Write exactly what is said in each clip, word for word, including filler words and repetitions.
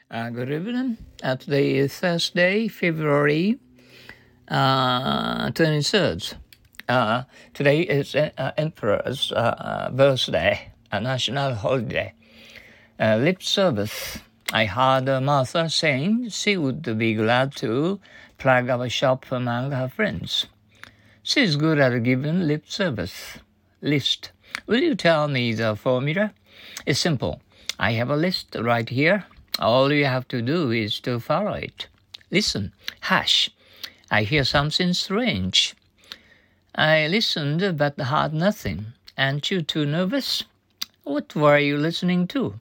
Uh, good evening. Uh, today is Thursday, February uh, twenty-third. Uh, today is uh, Emperor's uh, birthday, a national holiday. Uh, lip service. I heard Martha saying she would be glad to plug our shop among her friends. She's good at giving lip service. List. Will you tell me the formula? It's simple. I have a list right here. All you have to do is to follow it. Listen. Hash. I hear something strange. I listened but heard nothing. Aren't you too nervous? What were you listening to?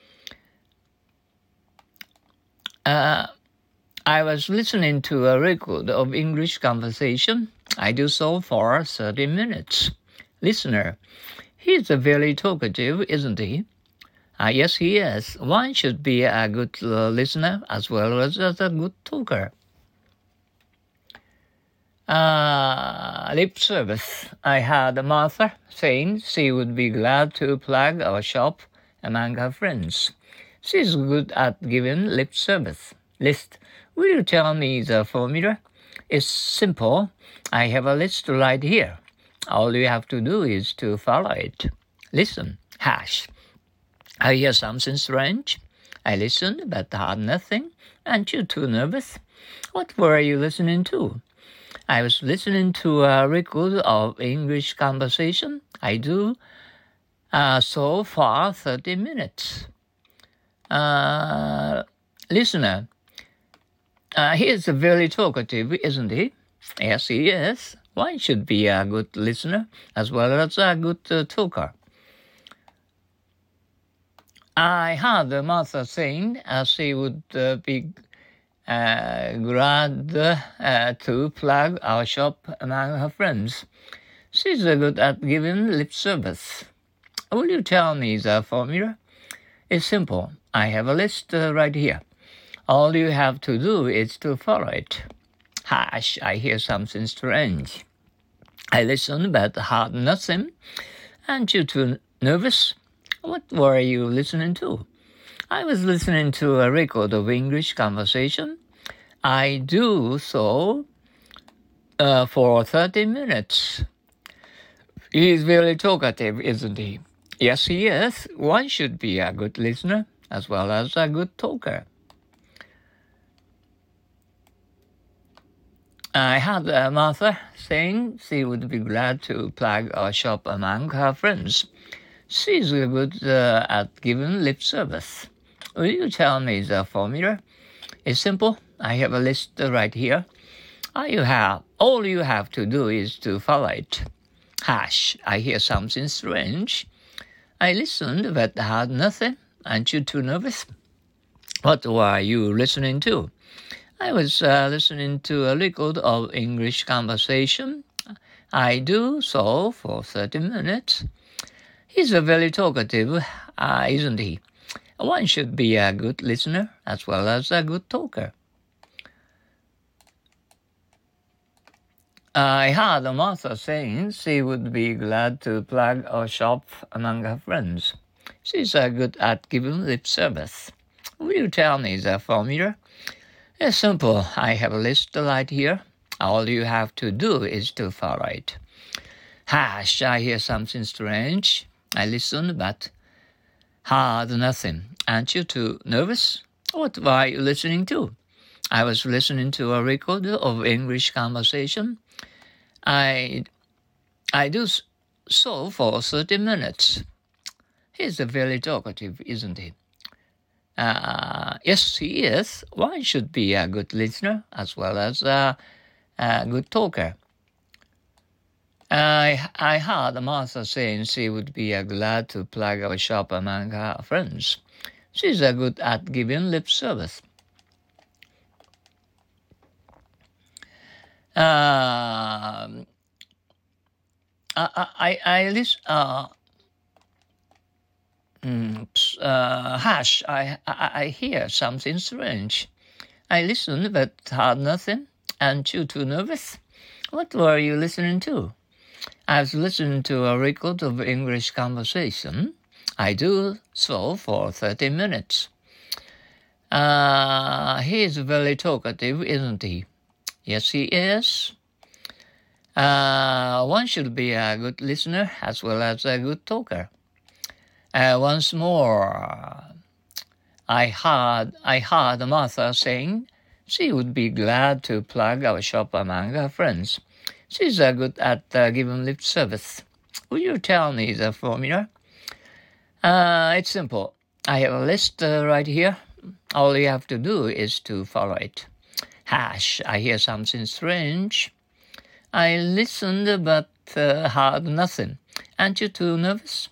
Uh, I was listening to a record of English conversation. I do so for thirty minutes. Listener. He's very talkative, isn't he? Uh, yes, he is. One should be a good uh, listener as well as, as a good talker. Uh, lip service. I heard Martha saying she would be glad to plug our shop among her friends. She's good at giving lip service. List. Will you tell me the formula? It's simple. I have a list right here. All you have to do is to follow it. Listen. Hash. I hear something strange. I listened but heard nothing. Aren't you too nervous? What were you listening to? I was listening to a record of English conversation. I do uh, so for thirty minutes. Uh, listener. Uh, he is very talkative, isn't he? Yes, he is. One should be a good listener as well as a good uh, talker. I heard Martha saying uh, she would uh, be uh, glad uh, to plug our shop among her friends. She's uh, good at giving lip service. Will you tell me the formula? It's simple. I have a list uh, right here. All you have to do is to follow it. Hush, I hear something strange. I listened but heard nothing. Aren't you too nervous? What were you listening to? I was listening to a record of English conversation. I do so uh, for thirty minutes. He is very talkative, isn't he? Yes, he is. One should be a good listener as well as a good talker. I heard uh, Martha saying she would be glad to plug our shop among her friends. She's good uh, at giving lip service. Will you tell me the formula? It's simple. I have a list right here. All you have, all you have to do is to follow it. Hush, I hear something strange. I listened but heard nothing. Aren't you too nervous? What were you listening to? I was uh, listening to a record of English conversation. I do so for thirty minutes. He's a very talkative, uh, isn't he? One should be a good listener as well as a good talker. I heard Martha saying she would be glad to plug our shop among her friends. She's uh, good at giving lip service. Will you tell me the formula? It's simple. I have a list right here. All you have to do is to follow it. Hush, I hear something strange. I listened but heard nothing. Aren't you too nervous? What were you listening to? I was listening to a record of English conversation. I, I do so for thirty minutes. He's very talkative, isn't he? Uh, yes, he is. One should be a good listener as well as a, a good talker. I I heard Martha saying she would be uh, glad to plug our shop among her friends. She's uh, good at giving lip service. Uh, I I I listen. Uh, mm, uh, hush! I, I I hear something strange. I listened but heard nothing. Aren't you too nervous? What were you listening to? I was listening to a record of English conversation. I do so for thirty minutes. Uh, he is very talkative, isn't he? Yes, he is. Uh, one should be a good listener as well as a good talker. Uh, once more, I heard I heard Martha saying she would be glad to plug our shop among her friends. She's uh, good at uh, giving lip service. Will you tell me the formula? Uh, it's simple. I have a list uh, right here. All you have to do is to follow it. Hash, I hear something strange. I listened but uh, heard nothing. Aren't you too nervous?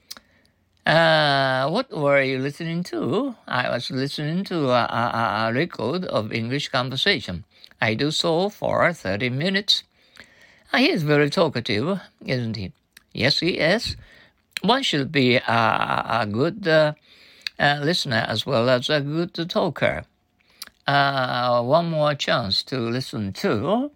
Uh, what were you listening to? I was listening to a, a, a record of English conversation. I do so for thirty minutes. Uh, he is very talkative, isn't he? Yes, he is. One should be a, a good uh, uh, listener as well as a good talker. Uh, one more chance to listen to.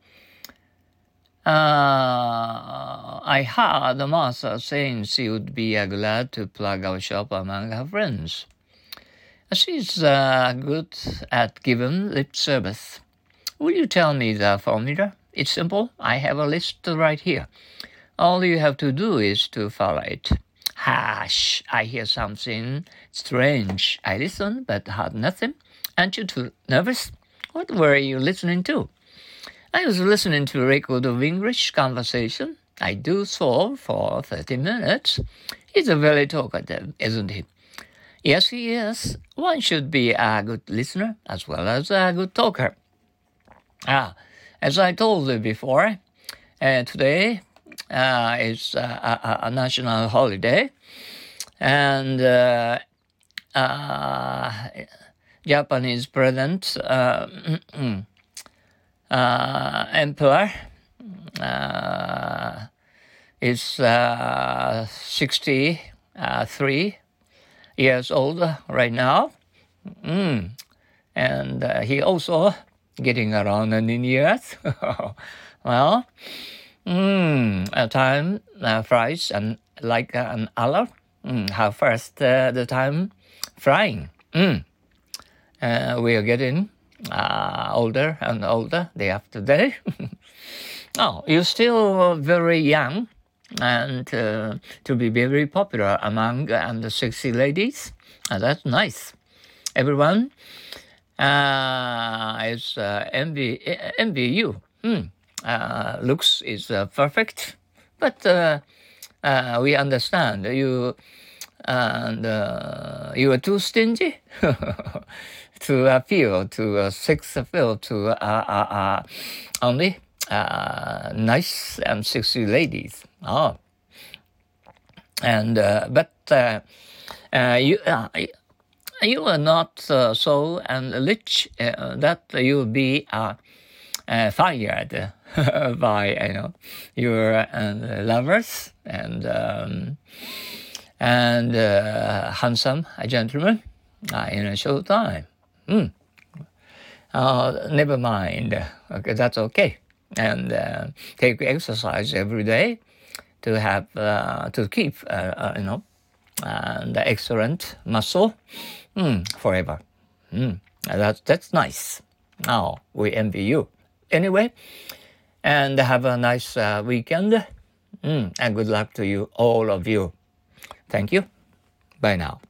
Uh, I heard Martha saying she would be uh, glad to plug our shop among her friends. She's uh, good at giving lip service. Will you tell me the formula? It's simple. I have a list right here. All you have to do is to follow it. Hush, I hear something strange. I listen but heard nothing. Aren't you too nervous? What were you listening to? I was listening to a record of English conversation. I do so for thirty minutes. He's a very talkative, isn't he? Yes, he is. One should be a good listener as well as a good talker. Ah, as I told you before, uh, today uh, is a, a, a national holiday, and uh, uh, Japanese president uh, uh, emperor uh, is uh, sixty-three years old right now, mm. and uh, he also getting around in years. Well, mm, a time uh, flies and like an hour. Mm, how fast uh, the time flying. Mm. Uh, we are getting uh, older and older day after day. Oh, you're still very young and uh, to be very popular among uh, the sexy ladies. Uh, that's nice. Everyone uh, is uh, envy, envy you. Mm. Uh, looks is uh, perfect, but uh, uh, we understand you and uh, you are too stingy to appeal to uh, sex appeal to uh, uh, uh, only uh, nice and sexy ladies. Oh, and uh, but uh, uh, you. Uh, You are not uh, so and rich uh, that you will be uh, uh, fired by you know your uh, lovers and um, and uh, handsome gentleman uh, in a short time. Mm. Uh, never mind. Okay, that's okay. And uh, take exercise every day to have uh, to keep uh, uh, you know uh, the excellent muscle. Mm, forever. Mm, that's, that's nice. Now we envy you. Anyway, and have a nice uh, weekend. Mm, and good luck to you, all of you. Thank you. Bye now.